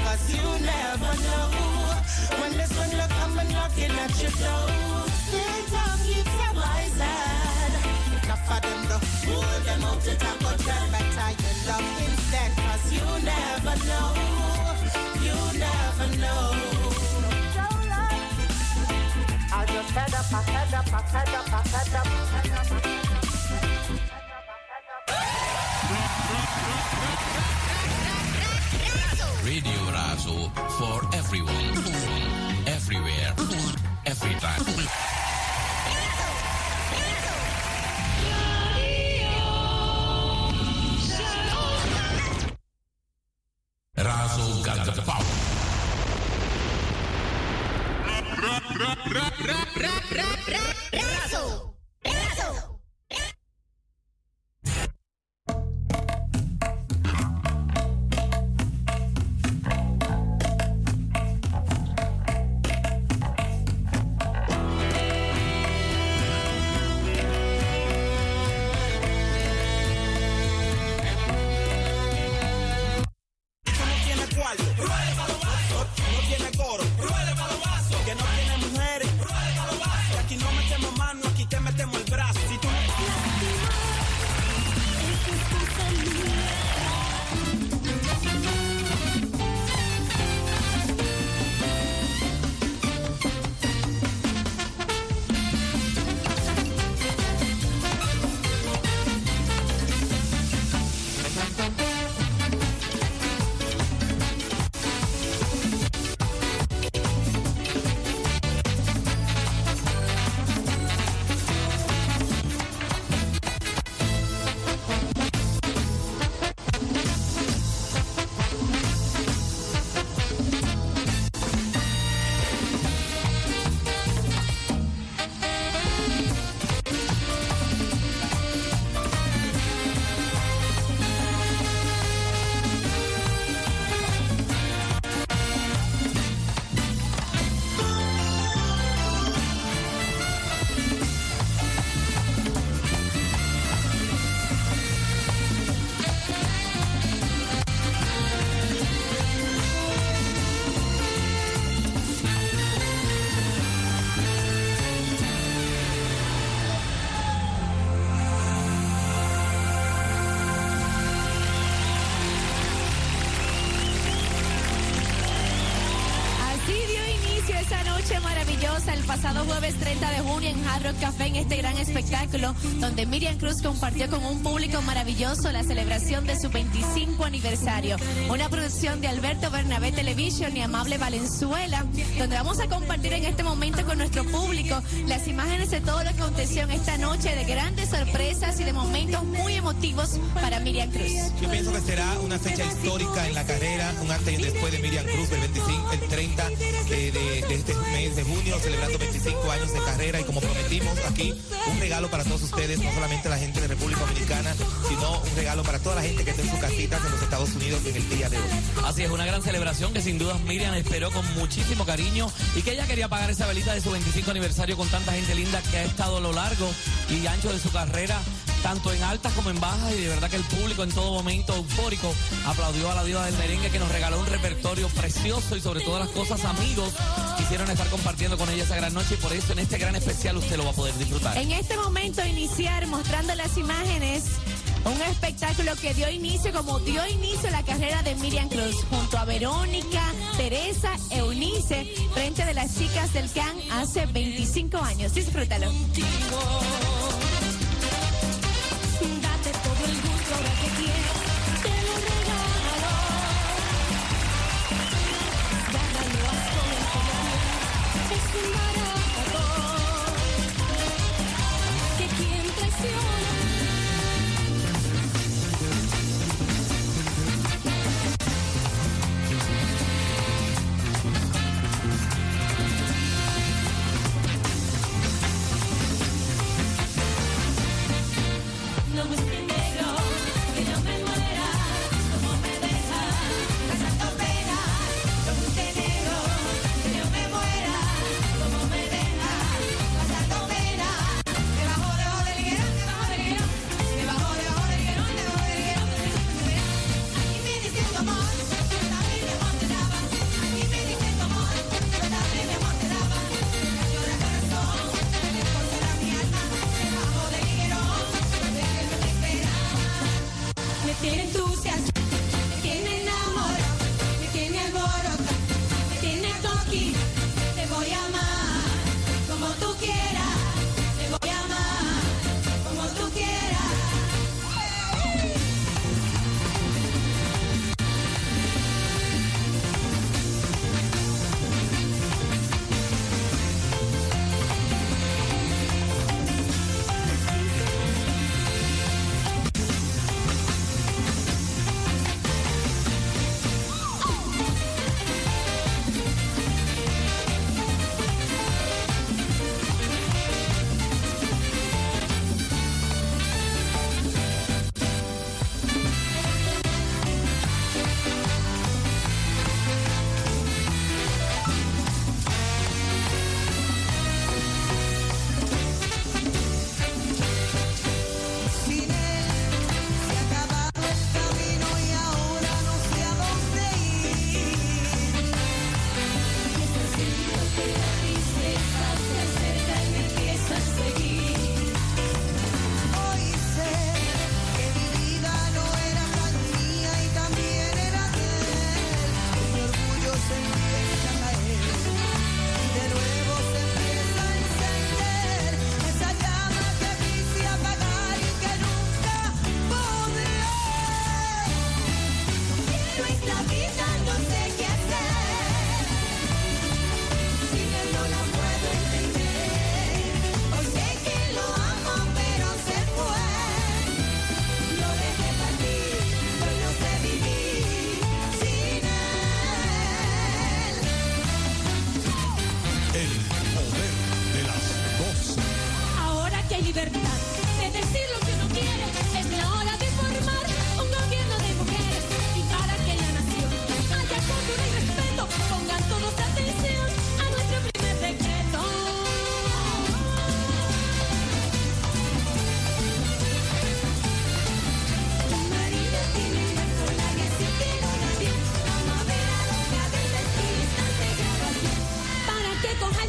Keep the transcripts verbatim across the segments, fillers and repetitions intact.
cause you never know when this one look come and knocking at your door. Still talk, keep your voice loud. Enough of them though, hold them out to talk about them. Better you love instead, cause you never know, you never know. I just head up, I head up, I head up, I head up, I head up. Radio Razo for everyone, everywhere, every time. Razo got the power. Razo. El pasado jueves treinta de junio en Hard Rock Café, en este gran espectáculo donde Miriam Cruz compartió con un público maravilloso la celebración de su veinticinco aniversario, una producción de Alberto Bernabé Television y Amable Valenzuela, donde vamos a compartir en este momento con nuestro público las imágenes de todo lo que aconteció en esta noche, de grandes sorpresas y de momentos muy emotivos para Miriam Cruz. Yo pienso que será una fecha histórica en la carrera, un antes y después de Miriam Cruz, el veinticinco, el treinta de, de, de este mes de junio, celebrando veinticinco años de carrera, y como prometimos aquí, un regalo para todos ustedes, no solamente la gente de República Dominicana, sino un regalo para toda la gente que está en sus casitas en los Estados Unidos en el día de hoy. Así es, una gran celebración que sin duda Miriam esperó con muchísimo cariño y que ella quería pagar esa velita de su veinticinco aniversario con tanta gente linda que ha estado a lo largo y ancho de su carrera, tanto en altas como en bajas, y de verdad que el público en todo momento eufórico aplaudió a la diva del merengue, que nos regaló un repertorio precioso y sobre todas las cosas amigos quisieron estar compartiendo con ella esa gran noche, y por eso en este gran especial usted lo va a poder disfrutar. En este momento iniciar mostrando las imágenes, un espectáculo que dio inicio, como dio inicio la carrera de Miriam Cruz, junto a Verónica, Teresa, Eunice, frente de las chicas del C A N hace veinticinco años. Disfrútalo. Date todo el gusto ahora que quieras, te lo regalo. Gánalo a todo el que es un barato que quien traiciona. No me negro, que no me muera, como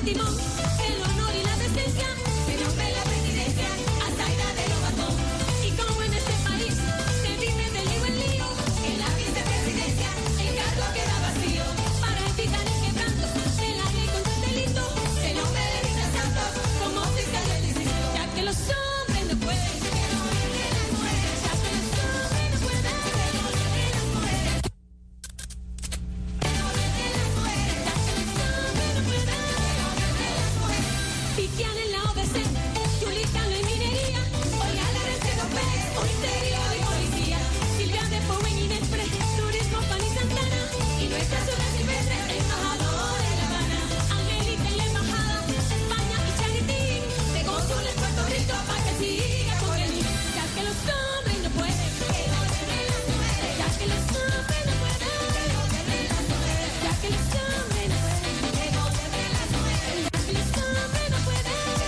el timón, el honor y la decencia, se nombre la presidencia a Zaida de Lobato. Y como en este país se vive de lío en lío, en la vicepresidencia el cargo queda vacío. Para evitar el quebranto de la ley contra el delito, se nombre de Rita Santos como fiscal del distrito. Ya que los hombres no pueden, que no dejen las mujeres, ya que los hombres no pueden, que no dejen las mujeres. Piquian en la O B C, Yulican en minería, Olga Larrecedo Pérez, Ministerio de Policía, Silvia de Powen y Nespre, Turismo, Pan y Santana, y nuestra ciudad silvestre, embajador en La Habana, Angélica en la embajada, España y Charitín, de cónsul en Puerto Rico, para que siga con el niño, ya que los hombres no pueden, que no dejen las mujeres, ya que los hombres no pueden, que no dejen las mujeres, ya que los hombres no pueden, que no dejen las mujeres, ya que los hombres no pueden.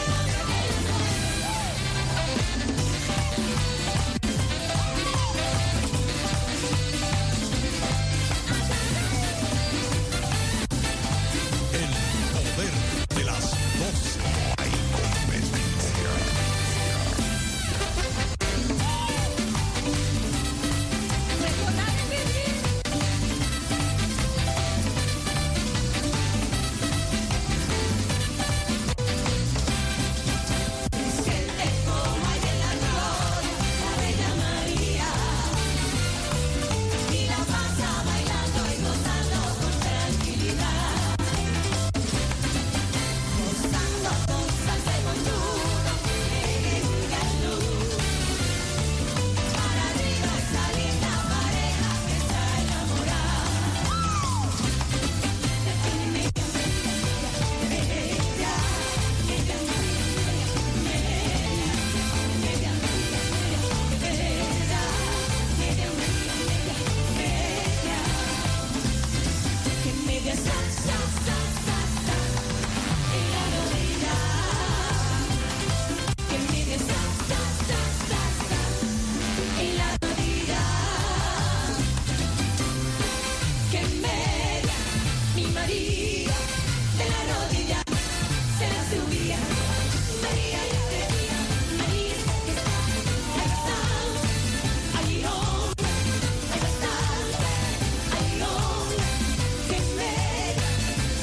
El poder de las doce. Hay competencia. Recordar es vivir. Siente como hay en la gloria la Reina María y la pasa bailando y gozando con tranquilidad, gozando con salsa y montuno en luz. Para arriba esa linda pareja que está enamorada. Que media sa, sa, sa, sa, sa, en la rodilla. Que media sa, sa, sa, sa, sa, en la rodilla. Que media mi María de la rodilla se la subía. María ya venía, María que está, ahí está, allí hombre, ahí está, allí hombre. Que media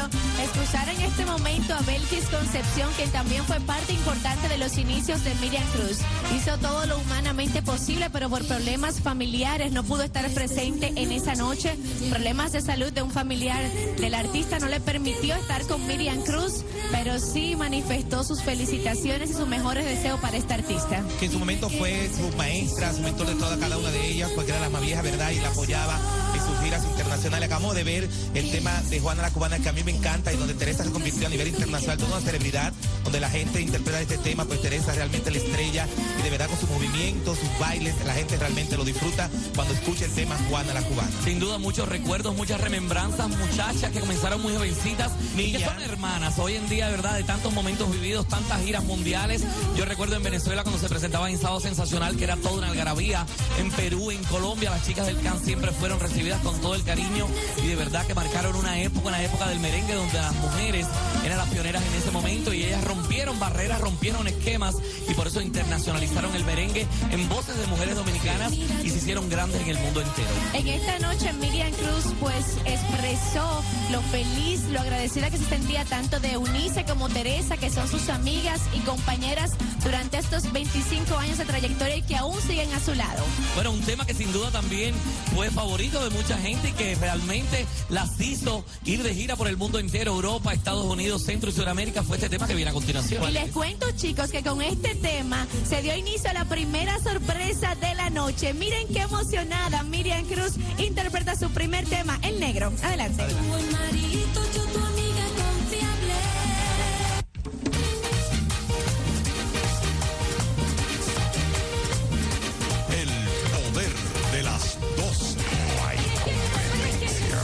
escuchar en este momento a Belkis Concepción, quien también fue parte importante de los inicios de Miriam Cruz. Hizo todo lo humanamente posible, pero por problemas familiares no pudo estar presente en esa noche. Problemas de salud de un familiar del artista no le permitió estar con Miriam Cruz, pero sí manifestó sus felicitaciones y sus mejores deseos para esta artista. Que en su momento fue su maestra, su mentor de toda cada una de ellas, porque era la más vieja, ¿verdad? Y la apoyaba en sus giras internacionales. Acabamos de ver el tema de Juana la Cubana, que a mí me encanta, y donde Teresa se convirtió a nivel internacional, toda una celebridad, donde la gente interpreta este tema, pues Teresa realmente la estrella, y de verdad con sus movimientos, sus bailes, la gente realmente lo disfruta cuando escucha el tema Juana la Cubana. Sin duda, muchos recuerdos, muchas remembranzas, muchachas que comenzaron muy jovencitas, y que son hermanas. Hoy en día, ¿verdad? De tantos momentos vividos, tantas giras mundiales. Yo recuerdo en Venezuela cuando se presentaba en Sábado Sensacional, que era toda una algarabía. En Perú, en Colombia, las chicas del C A N siempre fueron recibidas con todo el cariño, y de verdad que marcaron una época, una época del merengue donde las mujeres eran las pioneras en ese momento, y ellas rompieron barreras, rompieron esquemas, y por eso internacionalizaron el merengue en voces de mujeres dominicanas y se hicieron grandes en el mundo entero. En esta noche Miriam Cruz pues expresó lo feliz, lo agradecida que se sentía tanto de Eunice como Teresa, que son sus amigas y compañeras durante estos veinticinco años de trayectoria y que aún siguen a su lado. Bueno, un tema que sin duda también fue favorito de mucha gente y que realmente las hizo ir de gira por el mundo entero, Europa, Estados Unidos, Centro y Sudamérica, fue este tema que viene a continuación. Y les cuento, chicos, que con este tema se dio inicio a la primera sorpresa de la noche. Miren qué emocionada Miriam Cruz interpreta su primer tema, El Negro. Adelante. Adelante. Buen marido, yo tu amiga confiable. El poder de las dos. No hay competencia.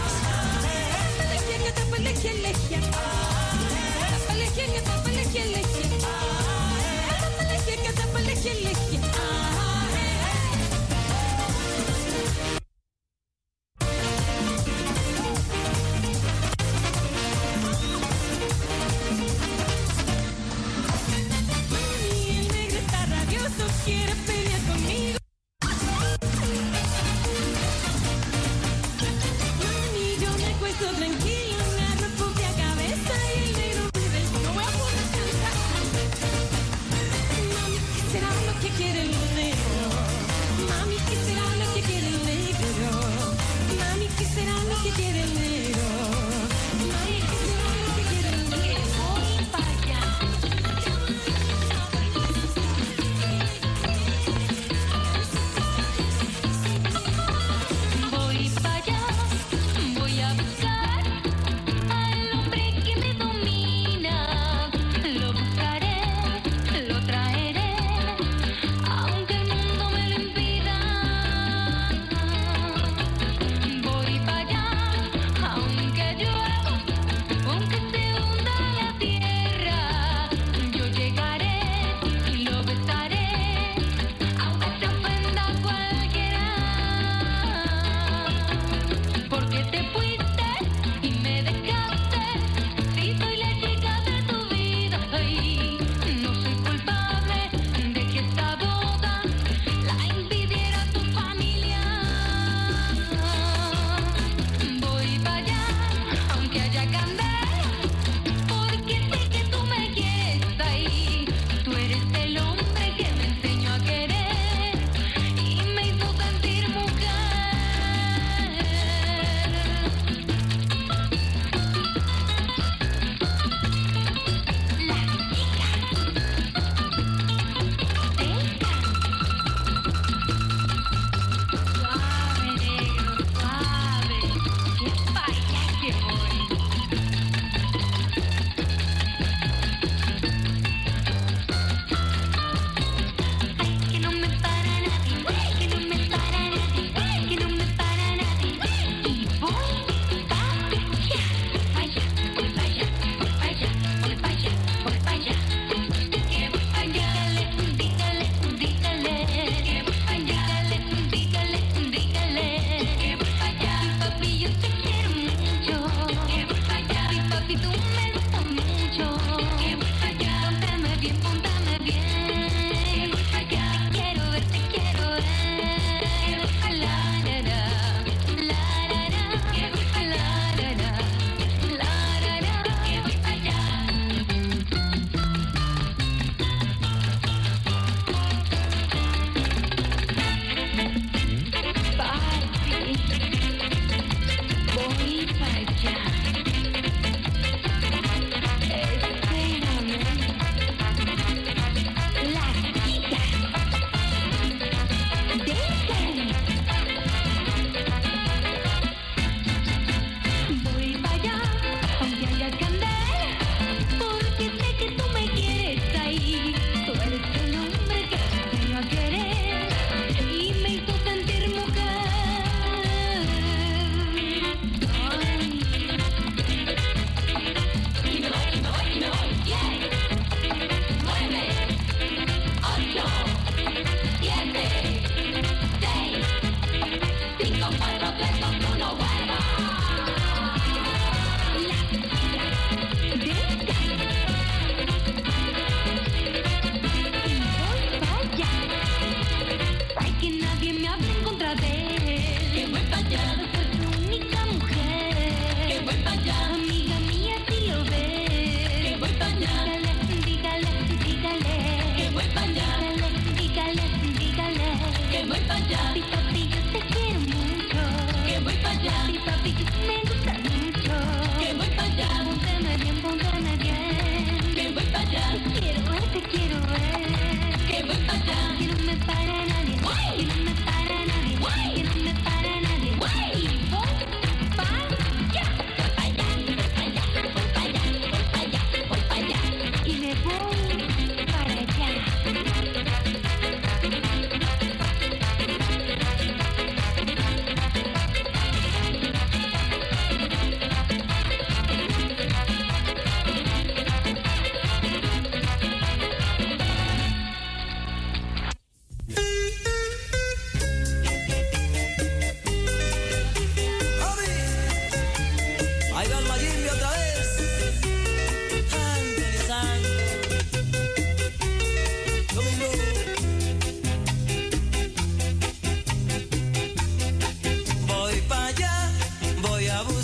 El negro está rabioso, quiere pelear conmigo. Mami, yo me acuesto tranquila, me agarro propia cabeza y el negro me besa. No voy a poder cantar. Mami, ¿qué será lo que quiere el negro? Mami, ¿qué será lo que quiere el negro? Mami, ¿qué será lo que quiere el negro? Mami, ¿qué será lo que quiere el negro? Voy para allá. Voy para allá, voy a buscar al hombre que me domina. Lo buscaré, lo traeré, aunque el mundo me lo impida. Voy para allá, aunque llueva, aunque se hunda la tierra. Yo llegaré y lo besaré, aunque se ofenda cualquiera. Porque te fuiste y me dejaste, si soy la chica de tu vida, ay, no soy culpable de que esta boda la impidiera tu familia. Voy para allá, aunque haya candela, porque sé que tú me quieres ahí. Tú eres el hombre que me enseñó a querer y me hizo sentir mujer. Suave, negro, suave, que pa' allá que voy. Que no me para nadie, que no me para nadie, que no me para nadie. Y voy pa' allá, pa' allá, voy pa' allá, voy pa' allá, voy pa' allá, voy pa' allá. Que voy pa' allá, dígale, dígale, que voy pa' allá, dígale, dígale, que voy pa' allá. Papi, yo te quiero mucho, que voy pa' allá. Y papi, tú me gustas mucho, que voy pa' allá. Póntame bien, póntame bien, que voy pa' allá. Te quiero ver, te quiero ver, que voy pa' la, la, la, la, la, la, que voy pa' la, la, la, la, la, la,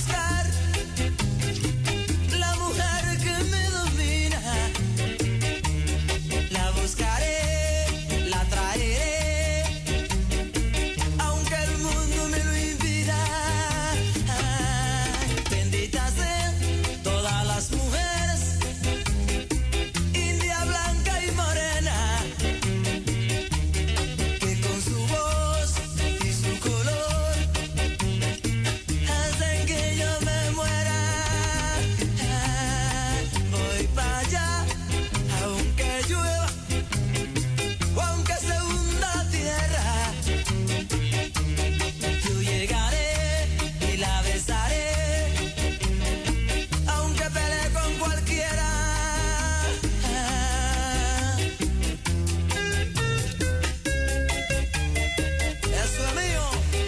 buscar la mujer que me domina. La buscaré, la traeré, aunque el mundo me lo impida. Ay, benditas sean todas las mujeres, india, blanca y morena, que con su voz y su color hacen que yo me muera. Ah, voy para allá, aunque llueva o aunque se hunda la tierra. Yo llegaré y la besaré, aunque pelee con cualquiera. Ah, eso es mío.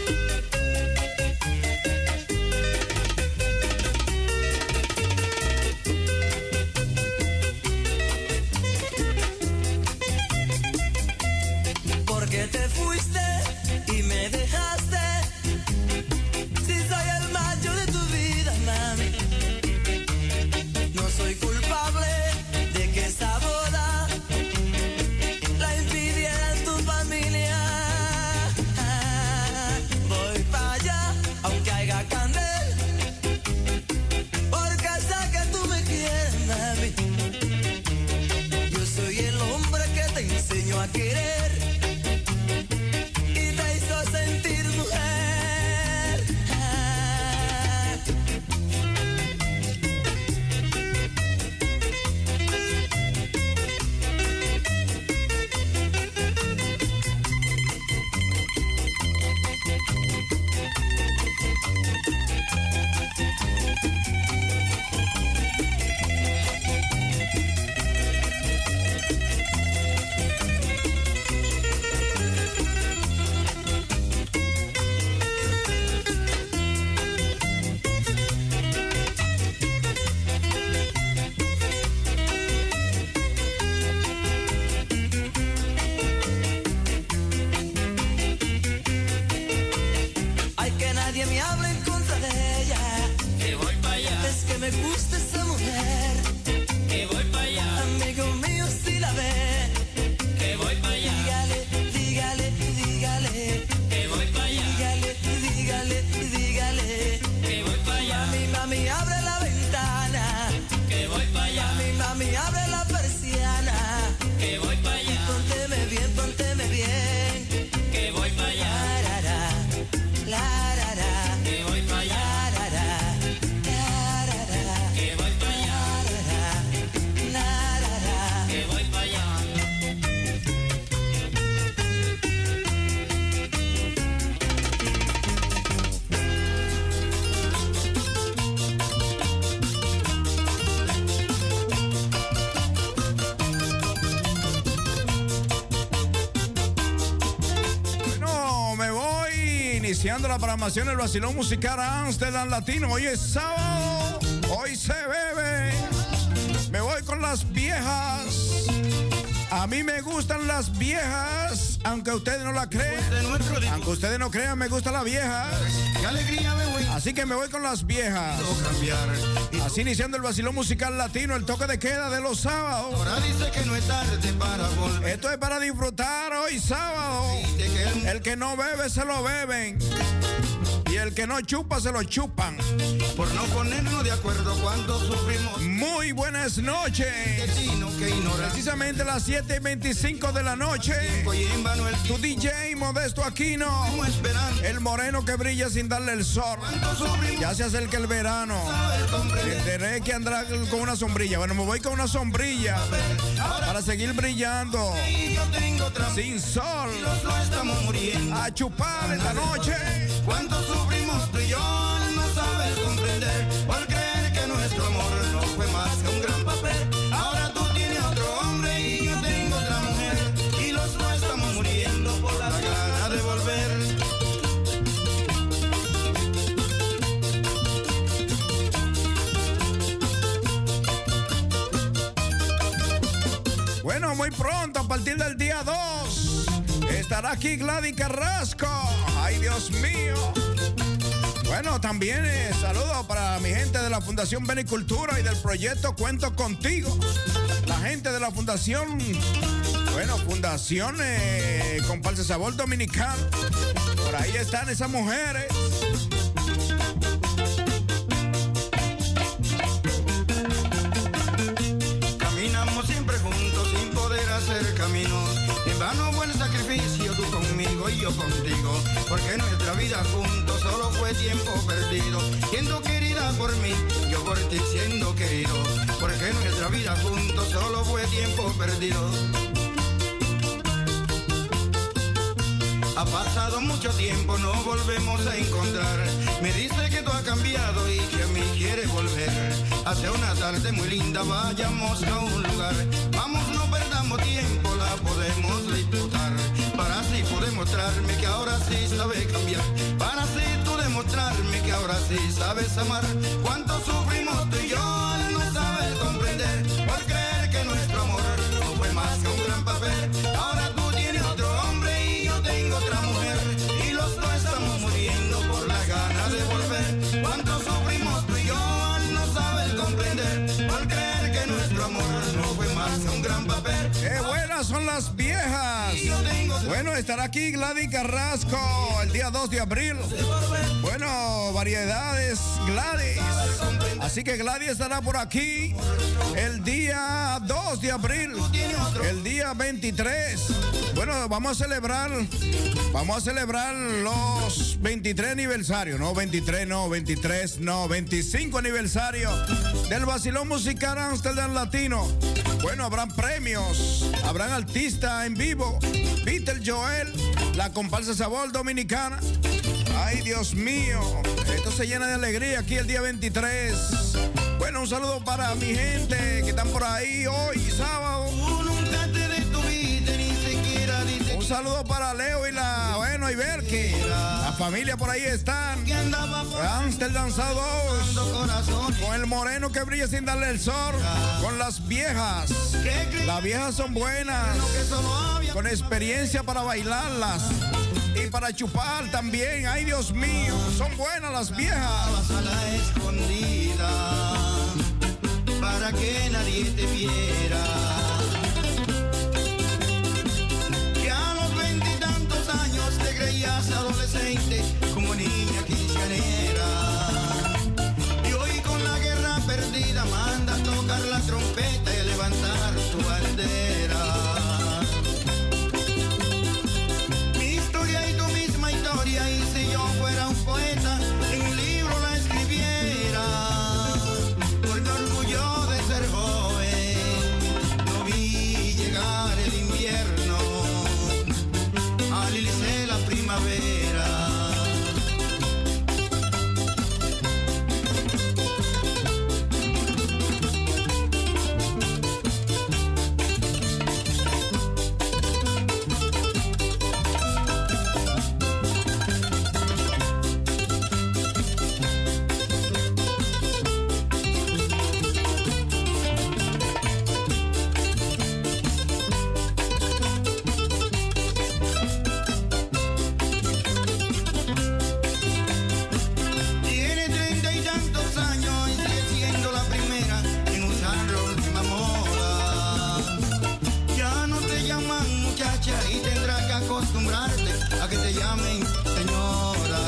Porque te fuiste y me dejaste, si soy el macho de tu vida, mami. No soy culpable de que esa boda la impidiera tu familia. Ah, voy para allá, aunque haya candel, porque sé que tú me quieres, mami. Yo soy el hombre que te enseñó a querer y te hizo sentir mujer. Ah, Ay, que nadie me hable en contra de ella, que voy para allá. Es que me gusta esa mujer, que voy para allá. Amigo mío, si la ve, que voy para allá. Dígale, dígale, dígale, que voy para allá. Dígale, dígale, dígale, que voy para allá. Mami, mami, abre la ventana, que voy para allá. Mami, mami, abre la persiana, que voy para allá. Y pónteme bien, pónteme bien, que voy para allá. La, la, la, que voy para allá. La, la, la, la, la, que voy para allá. La, la, la, que voy para allá. Bueno, me voy iniciando la programación del Vacilón Musical Amsterdam Latino. Hoy es sábado, hoy se bebe. Me voy con las viejas. A mí me gustan las viejas, aunque ustedes no la crean. Aunque ustedes no crean, me gustan las viejas. Qué alegría me voy. Así que me voy con las viejas. Así iniciando el Vacilón Musical Latino, el toque de queda de los sábados. Ahora dice que no es tarde para volver. Esto es para disfrutar hoy sábado. El que no bebe se lo beben. Y el que no chupa se lo chupan. Por no ponernos de acuerdo cuando sufrimos. Muy buenas noches. Precisamente las siete y veinticinco de la noche. Tu D J Modesto Aquino. El moreno que brilla sin darle el sol. Ya se acerca el verano. Tendré que andar con una sombrilla. Bueno, me voy con una sombrilla para seguir brillando. Sin sol. A chupar esta noche. Cuánto sufrimos tú y yo al no saber comprender, por creer que nuestro amor no fue más que un gran papel. Ahora tú tienes otro hombre y yo tengo otra mujer, y los dos estamos muriendo por la gana de volver. Bueno, muy pronto, a partir del día dos, estará aquí Gladys Carrasco. Ay, Dios mío. Bueno, también eh, saludos para mi gente de la Fundación Benicultura y del proyecto Cuento Contigo. La gente de la Fundación, bueno, Fundación eh, Comparsa Sabor Dominicano. Por ahí están esas mujeres. Caminamos siempre juntos sin poder hacer camino. En vano fue el sacrificio, tú conmigo y yo contigo. Porque nuestra vida juntos solo fue tiempo perdido. Siendo querida por mí, yo por ti siendo querido. Porque nuestra vida juntos solo fue tiempo perdido. Ha pasado mucho tiempo, no volvemos a encontrar. Me dice que tú has cambiado y que a mí quieres volver. Hace una tarde muy linda, vayamos a un lugar. Vamos, no perdamos tiempo, la podemos disfrutar. Para así poder demostrarme que ahora sí sabes cambiar. Para así tú demostrarme que ahora sí sabes amar. Cuánto sufrimos tú y yo al no saber comprender. Por creer que nuestro amor no fue más que un gran papel. Ahora tú tienes otro hombre y yo tengo otra mujer. Y los dos estamos muriendo por la gana de volver. Cuánto sufrimos tú y yo al no saber comprender. Por creer que nuestro amor no fue más que un gran papel. ¡Qué buenas son las viejas! Bueno, estará aquí Gladys Carrasco el día dos de abril. Bueno, variedades Gladys. Así que Gladys estará por aquí el día dos de abril. El día veintitrés. Bueno, vamos a celebrar, vamos a celebrar los veintitrés aniversarios. No, veintitrés, no, veintitrés, no, veinticinco aniversario del Vacilón Musical Amsterdam Latino. Bueno, habrán premios, habrán artistas en vivo. Peter Joel, la comparsa Sabor Dominicana. Ay, Dios mío, esto se llena de alegría aquí el día veintitrés. Bueno, un saludo para mi gente que están por ahí hoy, sábado. Un saludo para Leo y la, bueno, y Berke. La familia por ahí están. Amsterdam South, con el moreno que brilla sin darle el sol. Con las viejas. Las viejas son buenas. Con experiencia para bailarlas. Y para chupar también. Ay, Dios mío, son buenas las viejas. A la escondida, para que nadie te viera. Que a los veintitantos años te creías adolescente, como niña quinceañera. Y hoy con la guerra perdida manda a tocar la trompeta y levantar tu bandera. Y si yo fuera un poeta, en un libro la escribiera. Porque orgullo de ser joven, no vi llegar el invierno, alilicé la primavera. Y tendrás que acostumbrarte a que te llamen señora.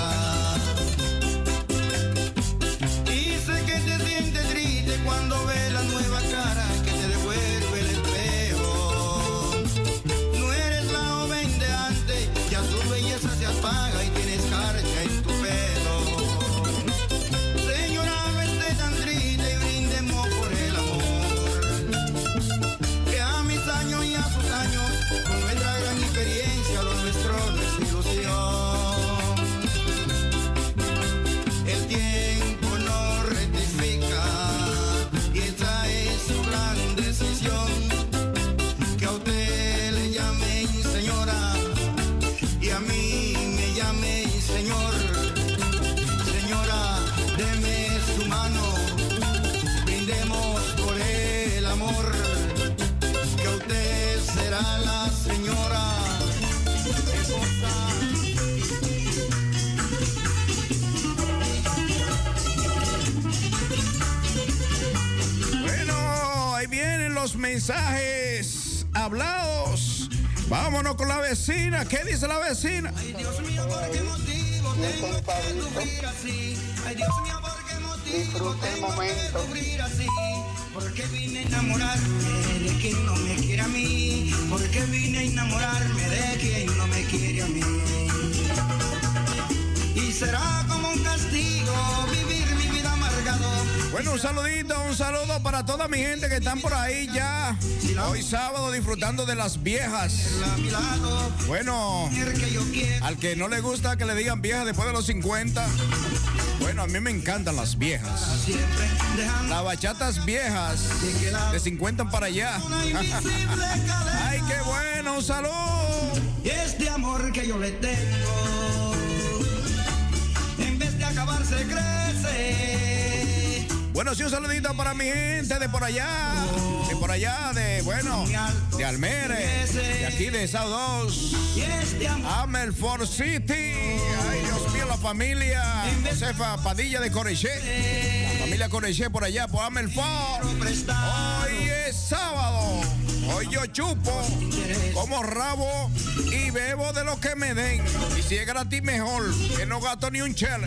Y sé que te sientes triste cuando ves la nueva cara que te devuelve el espejo. No eres la joven de antes, ya tu belleza se apaga y tienes escarcha en tu pelo. Señora, no estés tan triste y brindemos por el amor. Que a mis años y a sus años, con nuestra gran experiencia, lo nuestro no es ilusión. El tiempo no rectifica y esta es su gran decisión. Que a usted le llamen señora y a mí me llamen señor. Señora, deme su mano, brindemos por el amor. Que usted será la señora esposa. los mensajes hablados. Vámonos con la vecina. ¿Qué dice la vecina? Ay, Dios mío, ¿por qué motivo tengo que sufrir así? Ay, Dios mío, ¿por qué motivo tengo que sufrir así? Porque vine a enamorarme de quien no me quiere a mí. Porque vine a enamorarme de quien no me quiere a mí. Y será como un castigo vivir mi vida amargado. Bueno, un saludito, un saludo para toda mi gente que están por ahí ya. Hoy sábado disfrutando de las viejas. Bueno, al que no le gusta que le digan viejas después de los cincuenta. Bueno, a mí me encantan las viejas. Las bachatas viejas de cincuenta para allá. Ay, qué bueno, un saludo. Y este amor que yo le tengo, en vez de acabarse, crece. Bueno, sí, un saludito para mi gente de por allá, de por allá, de, bueno, de Almere, de aquí de South dos, Amelford City. Ay, Dios mío, la familia Josefa Padilla de Coreché, la familia Coreché por allá, por Amelford. Hoy es sábado, hoy yo chupo, como rabo y bebo de lo que me den. Y si es gratis, mejor, que no gasto ni un chele.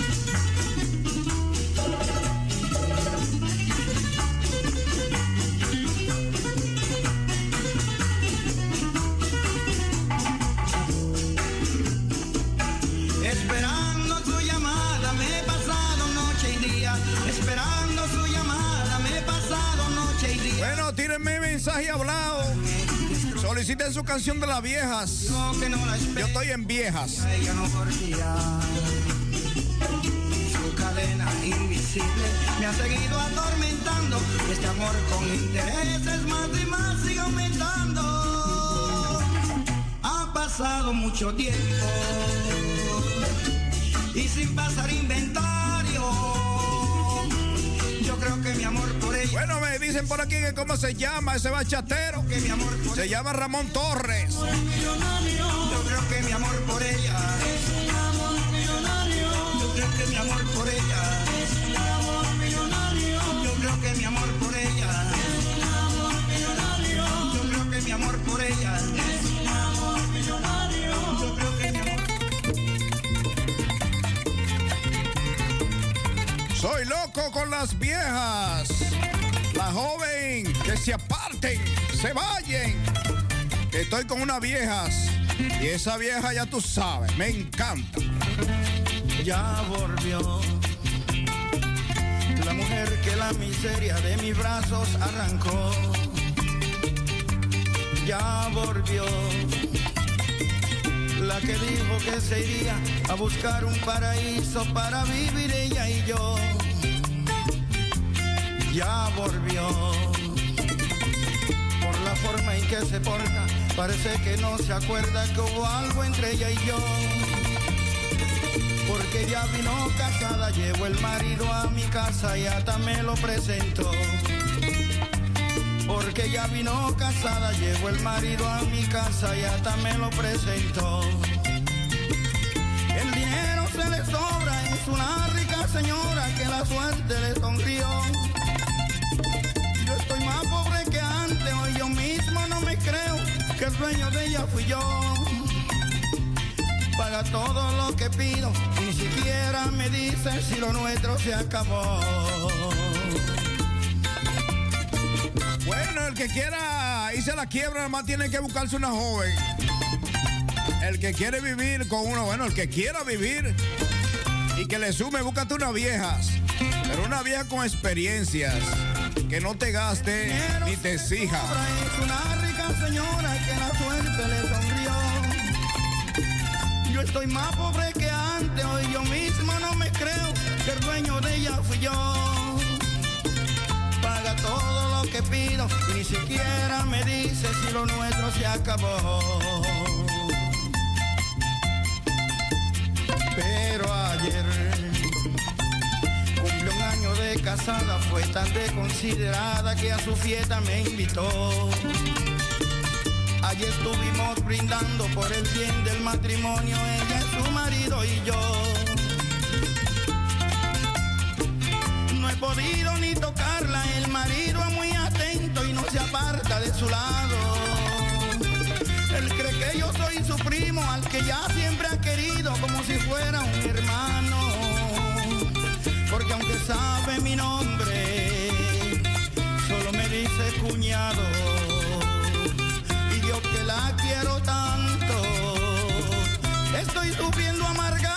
Esperando su llamada me he pasado noche y día. Esperando su llamada me he pasado noche y día. Bueno, tírenme mensaje hablado. Soliciten su canción de las viejas. Yo estoy en viejas. Ella no volvía. Su cadena invisible me ha seguido atormentando. Este amor con intereses más y más sigue aumentando. Ha pasado mucho tiempo y sin pasar inventario. Yo creo que mi amor por ella. Bueno, me dicen por aquí que cómo se llama ese bachatero. Que mi amor por se llama Ramón Torres. Yo creo que mi amor por ella es un amor millonario. Yo creo que mi amor por ella es un amor millonario. Yo creo que mi amor por ella es un amor millonario. Yo creo que mi amor por ella es un amor millonario. Yo creo que mi amor. Soy loco con las viejas. La joven, que se aparten, se vayan. Que estoy con unas viejas. Y esa vieja ya tú sabes, me encanta. Ya volvió la mujer que la miseria de mis brazos arrancó. Ya volvió la que dijo que se iría a buscar un paraíso para vivir ella y yo. Ya volvió. Por la forma en que se porta, parece que no se acuerda que hubo algo entre ella y yo. Porque ya vino casada, llevó el marido a mi casa y hasta me lo presentó. Porque ya vino casada, llevó el marido a mi casa y hasta me lo presentó. El dinero se le sobra, es una rica señora que la suerte le sonrió. Yo estoy más pobre que antes, hoy yo mismo no me creo que el dueño de ella fui yo. Paga todo lo que pido, ni siquiera me dice si lo nuestro se acabó. Bueno, el que quiera irse a la quiebra, nada más tiene que buscarse una joven. El que quiere vivir con uno, bueno, el que quiera vivir y que le sume, búscate unas viejas. Pero una vieja con experiencias, que no te gaste ni te exija. Es una rica señora que la suerte le sonrió. Yo estoy más pobre que antes, hoy yo mismo no me creo que el dueño de ella fui yo. Paga todo lo que pido y ni siquiera me dice si lo nuestro se acabó. Pero ayer cumplió un año de casada, fue tan desconsiderada que a su fiesta me invitó. Allí estuvimos brindando por el bien del matrimonio, ella, su marido y yo. No he podido ni tocarla, el marido es muy atento y no se ha de su lado. Él cree que yo soy su primo, al que ya siempre ha querido como si fuera un hermano. Porque aunque sabe mi nombre, solo me dice cuñado. Y yo que la quiero tanto, estoy sufriendo amargada.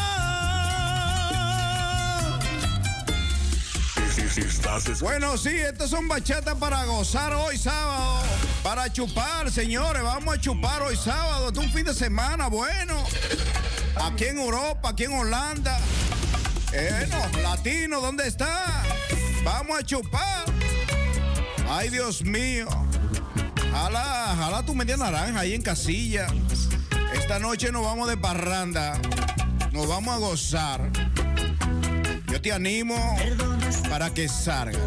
Bueno, sí, estas son bachatas para gozar hoy sábado, para chupar, señores. Vamos a chupar hoy sábado, es un fin de semana bueno. Aquí en Europa, aquí en Holanda. Bueno, latino, ¿dónde está? Vamos a chupar. Ay, Dios mío. Jala, jala tu media naranja ahí en casilla. Esta noche nos vamos de parranda. Nos vamos a gozar. Yo te animo para que salga.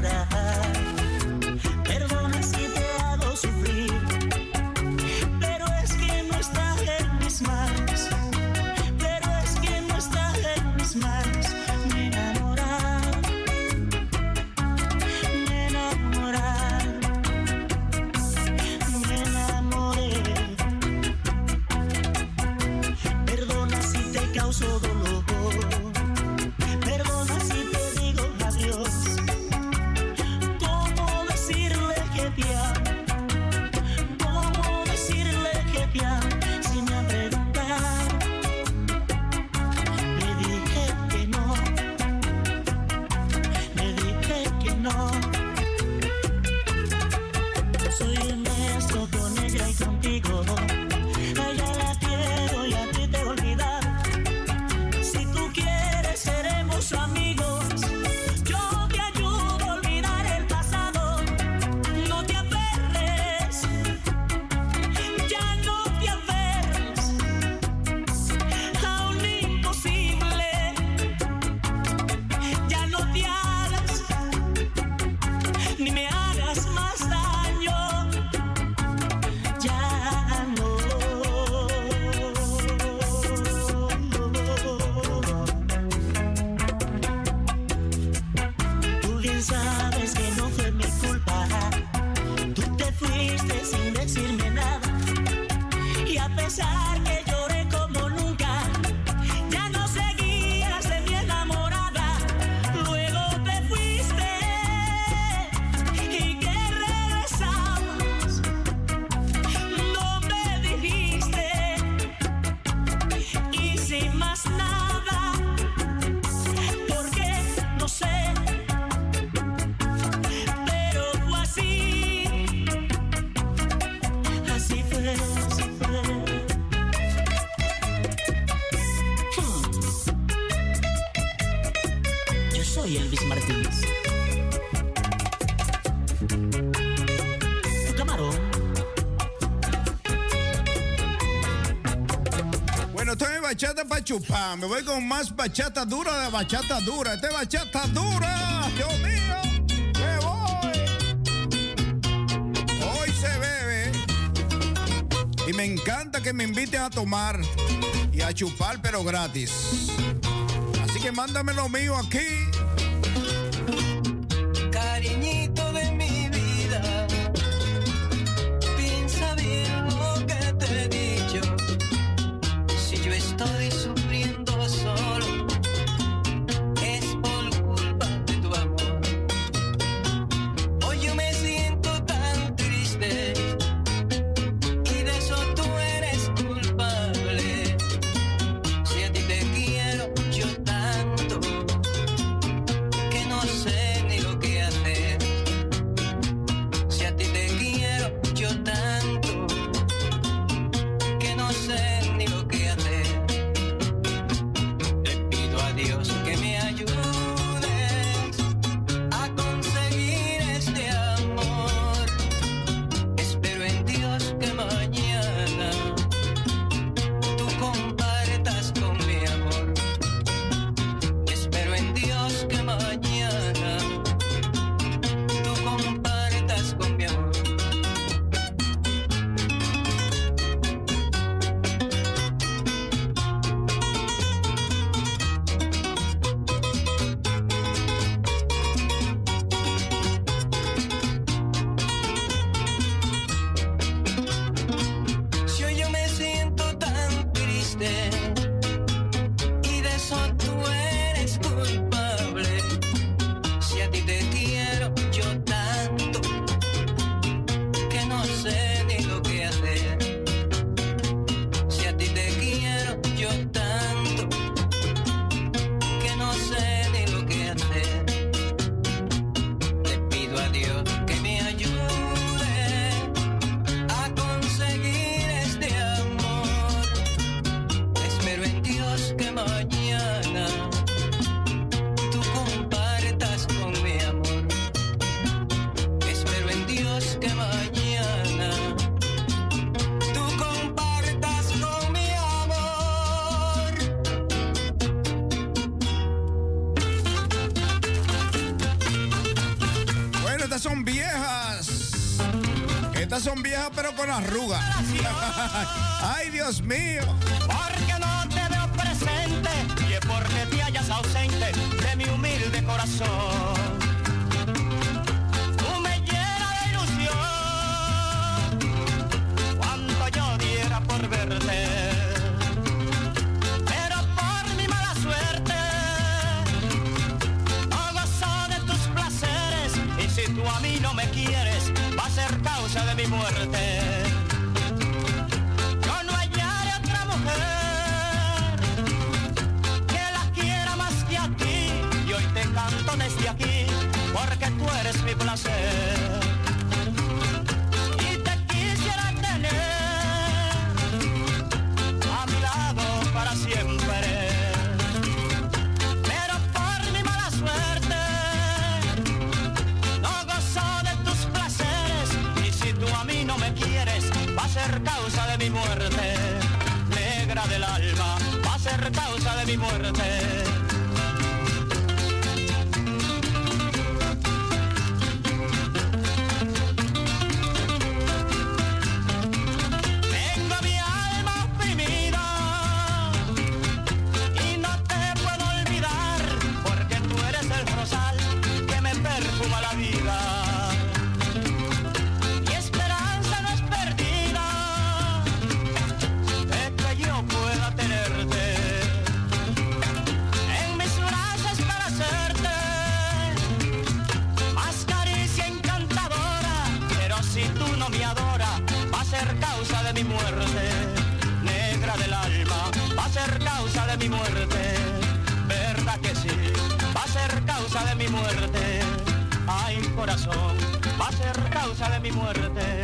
Perdona si te hago sufrir, pero es que no está en mis manos. Pero es que no está en mis manos. Me enamorar, me enamorar, me enamoré. Perdona si te causo dolor. Bachata para chupar. Me voy con más bachata dura de bachata dura. Este es bachata dura. Dios mío, me voy. Hoy se bebe. Y me encanta que me inviten a tomar y a chupar, pero gratis. Así que mándame lo mío aquí. Cariñito de mi vida, piensa bien lo que te he dicho. Estoy sufriendo solo, es por culpa de tu amor. Hoy yo me siento tan triste y de eso tú eres culpable. Si a ti te quiero yo tanto que no sé ni lo que hacer. Si a ti te quiero yo tanto que no sé ni lo que hacer. Dios, que me ayudes a conseguir este amor. Espero en Dios que mañana tú compartas con mi amor. Espero en Dios que mañana Estas son viejas. Estas son viejas pero con arrugas. Ay, Dios mío. Porque no te veo presente y es porque te hallas ausente de mi humilde corazón. Tú me llenas de ilusión cuando yo diera por verte. Pero por mi mala suerte no gozo de tus placeres y si tú a mí no me quieres va a ser causa de mi muerte. Yo no hallaré otra mujer que la quiera más que a ti y hoy te canto desde aquí porque tú eres mi placer. Y te quisiera tener a mi lado para siempre. Pero por mi mala suerte no gozo de tus placeres y si tú a mí no me quieres va a ser causa de mi muerte. Negra del alma, va a ser causa de mi muerte. Tengo mi alma oprimida y no te puedo olvidar porque tú eres el rosal que me perfuma la vida. Mi esperanza no es perdida de que yo pueda tenerte en mis brazos para hacerte más caricia encantadora. Pero si tú no me adoras va a ser causa de mi muerte. Negra del alma, va a ser causa de mi muerte. Verdad que sí, va a ser causa de mi muerte. Ay, corazón, va a ser causa de mi muerte.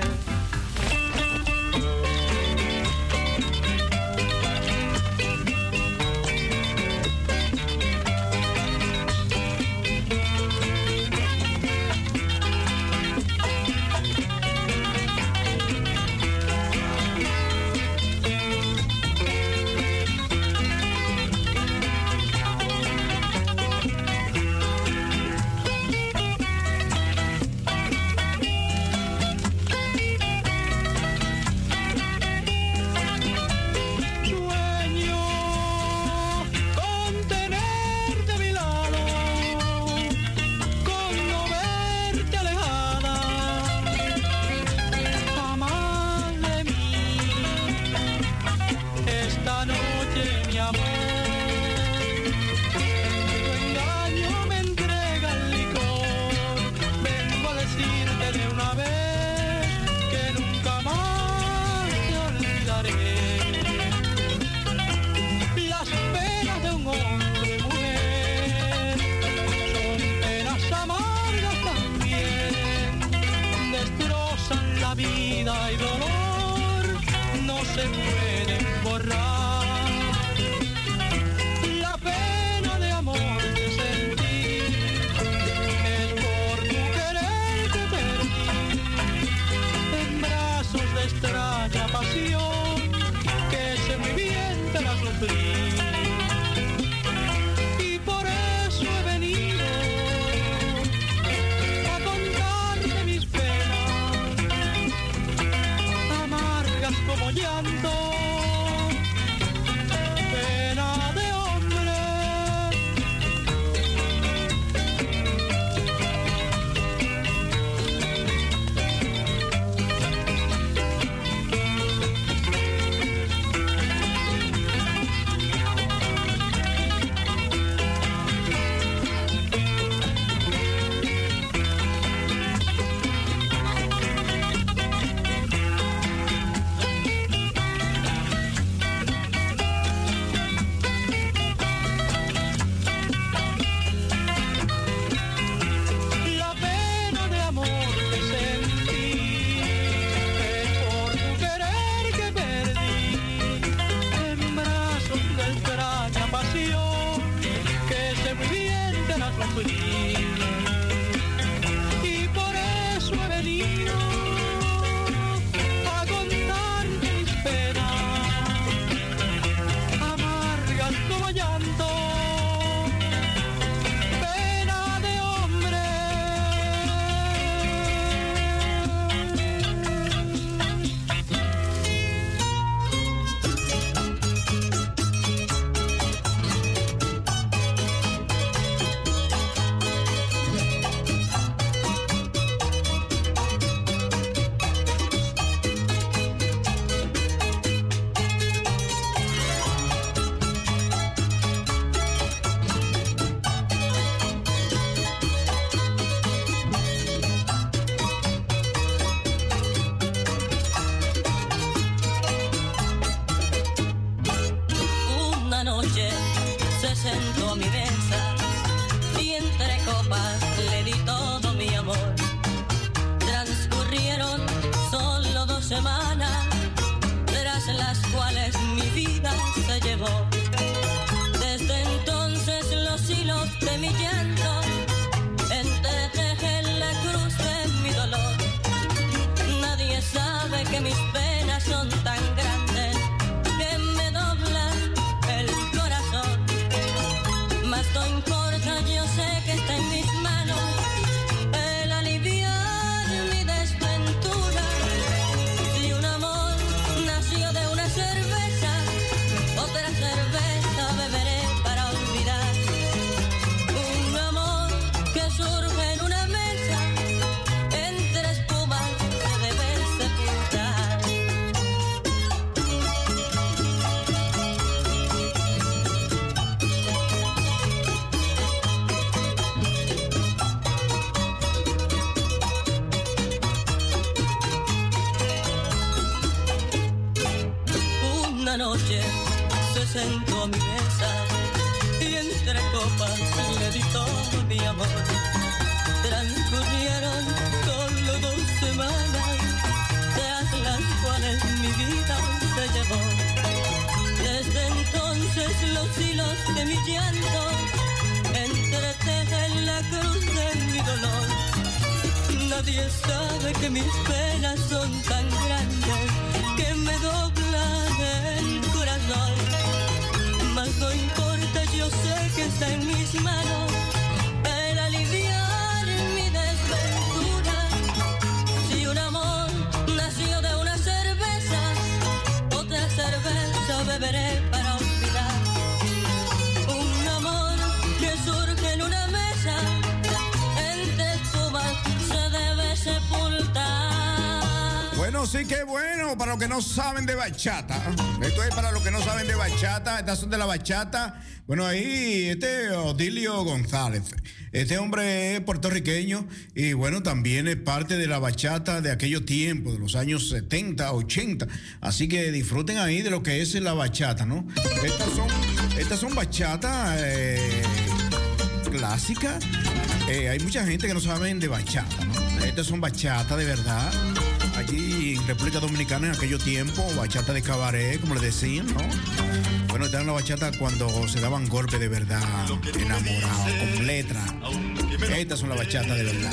una noche se sentó a mi mesa y entre copas le di todo mi amor. Transcurrieron solo dos semanas, tras las cuales mi vida se llevó. Desde entonces los hilos de mi llanto entretejen la cruz de mi dolor. Nadie sabe que mis penas son tan grandes que me doblan el corazón. Mas no importa, yo sé que está en mis manos el aliviar mi desventura. Si un amor nació de una cerveza, otra cerveza beberé para olvidar. Un amor que surge en una mesa, entre espumas se debe sepultar. Bueno, sí que bueno, para los que no saben de bachata. Esto es para los que no saben de bachata, estas son de la bachata. Bueno, ahí este Odilio González, este hombre es puertorriqueño y bueno, también es parte de la bachata de aquellos tiempos, de los años setenta, ochenta. Así que disfruten ahí de lo que es la bachata, ¿no? Estas son, estas son bachatas eh, clásicas. Eh, hay mucha gente que no saben de bachata, ¿no? Estas son bachatas de verdad. Allí en República Dominicana en aquellos tiempos, bachata de cabaret, como les decían, ¿no? Bueno, esta era la bachata cuando se daban golpes de verdad, enamorados, con letra. Estas son las bachatas de verdad.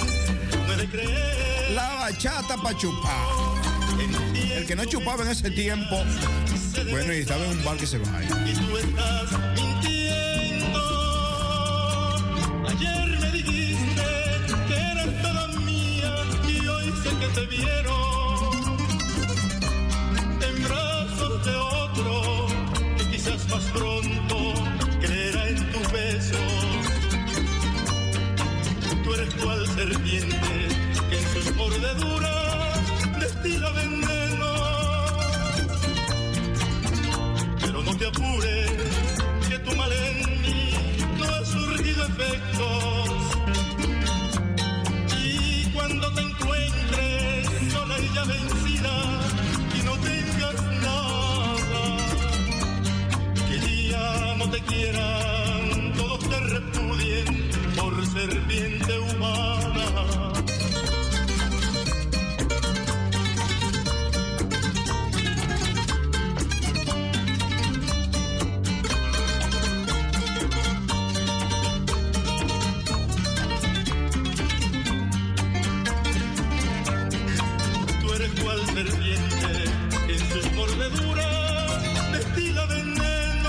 La bachata pa' chupar. El que no chupaba en ese tiempo, bueno, y estaba en un bar que se vaya. Y tú estás mintiendo. Ayer me dijiste que eras toda mía y hoy sé que te vieron en brazos de otro que quizás más pronto creerá en tu beso. Tú eres cual serpiente que en sus mordeduras destila veneno. Pero no te apures, que tu mal en mí no ha surgido efectos. Y cuando te encuentres sola y ya vencida y no tengas nada, que ya no te quieran, todos te repudien por serpiente humana. Serpiente en sus mordeduras destila veneno.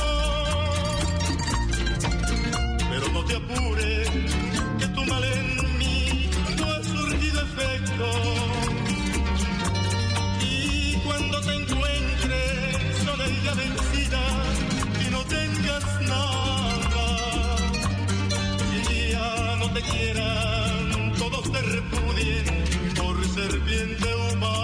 Pero no te apures, que tu mal en mí no ha surgido efecto. Y cuando te encuentres sola y ya vencida y no tengas nada, y ya no te quieran, todos te repudien por serpiente humana.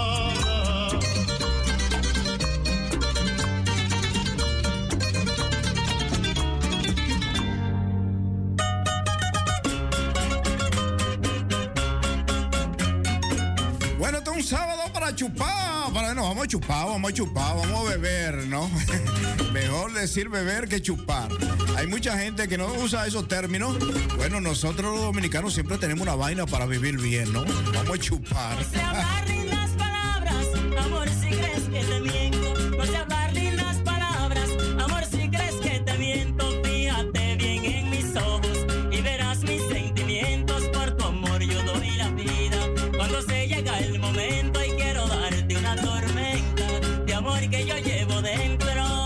Un sábado para chupar, para, no, vamos a chupar, vamos a chupar, vamos a beber, ¿no? Mejor decir beber que chupar. Hay mucha gente que no usa esos términos. Bueno, nosotros los dominicanos siempre tenemos una vaina para vivir bien, ¿no? Vamos a chupar. No sé hablar lindas palabras, amor, si crees que te miento. No sé hablar lindas palabras, amor, si crees que te miento. Fíjate bien en mis ojos y verás mis sentimientos. Por tu amor yo doy la vida. Cuando se llega el momento y quiero darte una tormenta de amor que yo llevo dentro.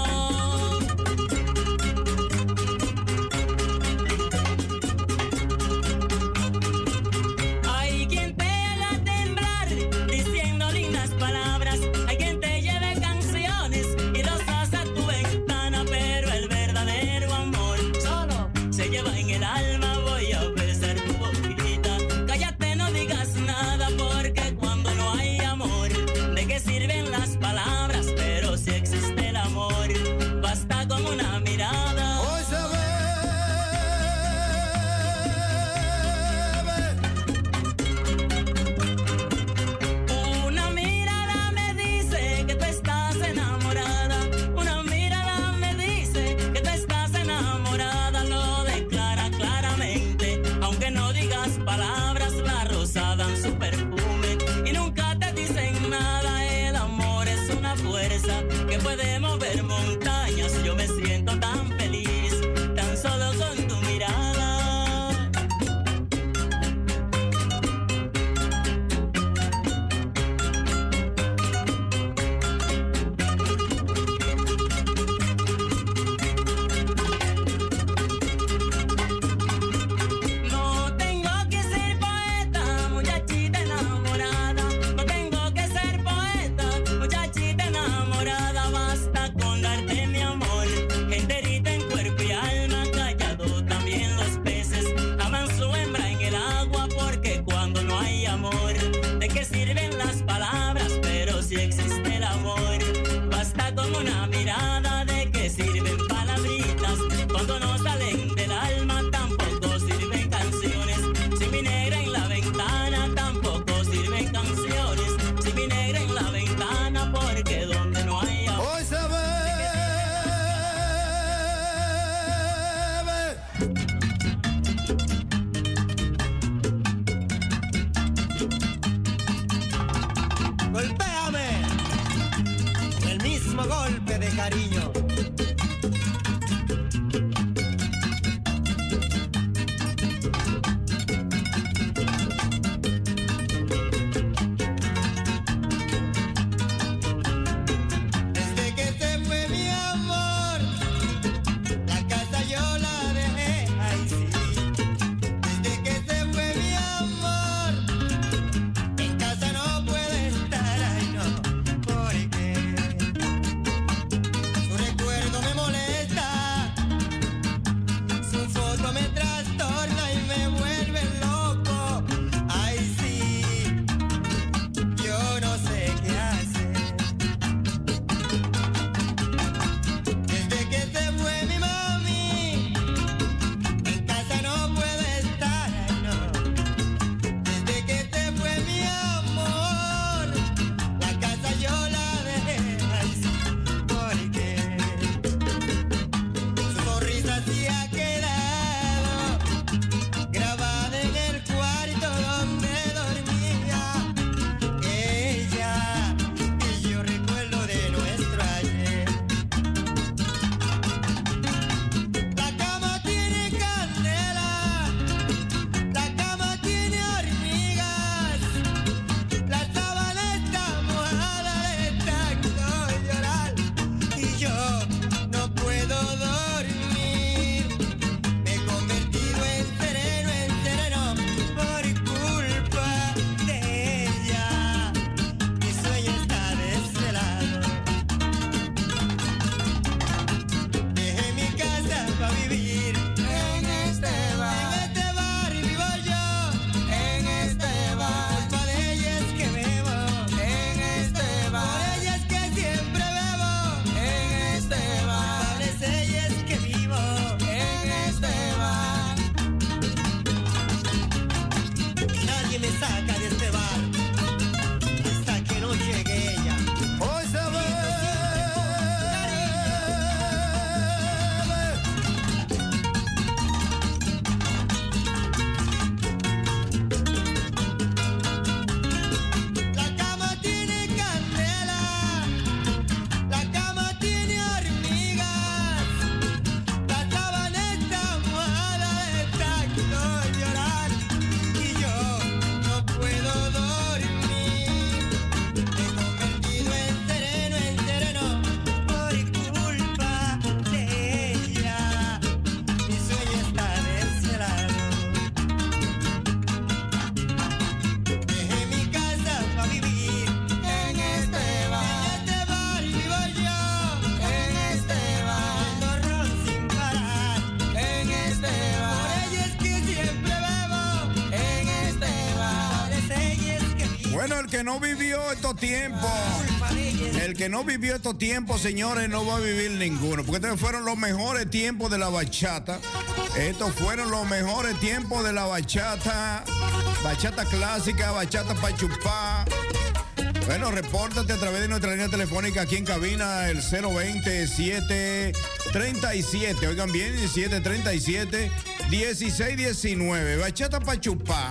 Hay quien te haga temblar diciendo lindas palabras. Hay quien te lleve canciones y rosas a tu ventana. Pero el verdadero amor solo se lleva en el alma. Voy a besar tu boquita. Cállate, no digas nada porque cuando no cariño. Desde que se fue mi amor, la casa yo la dejé, ay sí. Desde que se fue mi amor, en casa no puede estar, ay no, porque su recuerdo me molesta, su foto me trastorna y me vuelve loco, ay sí, yo no sé qué hacer. Desde que se fue mi mami, en casa no puede estar, ay no. Desde que se fue mi amor, la casa yo la dejé, ay sí, porque su sonrisa sí ha quedado grabada en el cuarto donde dormía ella, y yo recuerdo de nuestro ayer. La cama tiene candela, la cama tiene hormigas, la sábana está mojada de tanto llorar y yo no puedo dormir. Me he convertido en sereno, en sereno por culpa de ella. Mi sueño está desvelado. Dejé mi casa para vivir en este bar. En este bar vivo yo, en este bar. Por culpa de ella es que bebo, en este bar. Por ella es que siempre bebo, en este bar. Por ella es que vivo, en este bar. Y nadie me saca de este bar hasta que no llegue ella. Hoy se ve. La cama tiene candela, la cama tiene hormigas, la sábana está mojada de tanto llorar y yo no puedo dormir. Me he convertido en sereno, en sereno por culpa de ella. Mi sueño está desvelado. Dejé mi casa para vivir en este bar. En este bar vivo yo, en este bar. Tomando ron sin parar, en este bar. Por ella es que siempre bebo, en este bar. Por ella es que vivo. Bueno, el que no vivió estos tiempos, Culpa de ella es el que no vivió estos tiempos, señores, no va a vivir ninguno. Porque estos fueron los mejores tiempos de la bachata. Estos fueron los mejores tiempos de la bachata. Bachata clásica, bachata pa' chupar. Bueno, repórtate a través de nuestra línea telefónica aquí en cabina, el cero veinte, siete treinta y siete. Oigan bien, siete treinta y siete, dieciséis diecinueve. Bachata pa' chupar.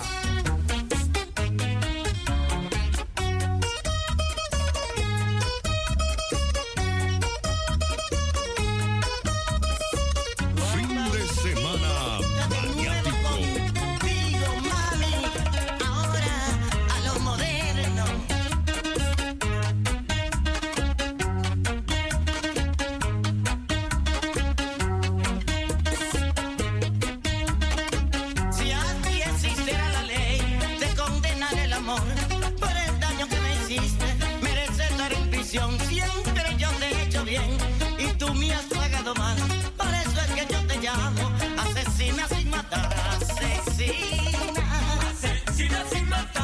Fin de semana maniático. Contigo, mami, ahora a lo moderno. Si a ti existiera la ley de condenar el amor por el daño que me hiciste, mereces estar en prisión. Siempre yo te he hecho bien y tú me has pagado mal. Por eso es que yo te llamo asesina sin matar, asesina, asesina sin matar.